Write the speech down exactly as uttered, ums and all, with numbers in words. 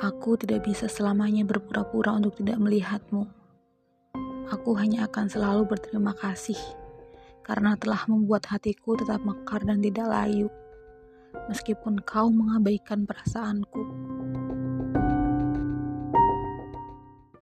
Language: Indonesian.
Aku tidak bisa selamanya berpura-pura untuk tidak melihatmu. Aku hanya akan selalu berterima kasih karena telah membuat hatiku tetap mekar dan tidak layu, meskipun kau mengabaikan perasaanku.